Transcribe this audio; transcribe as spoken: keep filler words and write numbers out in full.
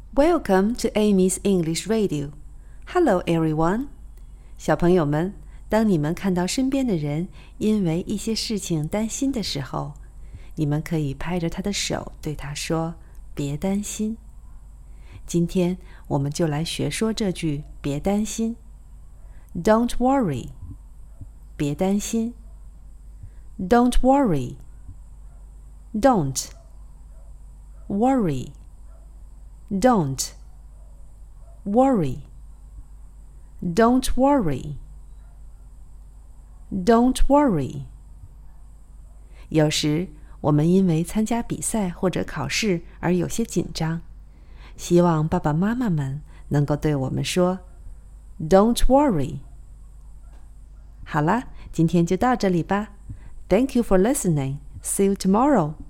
Welcome to Amy's English Radio. Hello, everyone. 小朋友们，当你们看到身边的人因为一些事情担心的时候，你们可以拍着他的手对他说，别担心。今天我们就来学说这句别担心。Don't worry. 别担心。Don't worry. Don't. Worry.Don't worry. Don't worry. Don't worry. 有时我们因为参加比赛或者考试而有些紧张，希望爸爸妈妈们能够对我们说 Don't worry. 好啦，今天就到这里吧。Thank you for listening. See you tomorrow.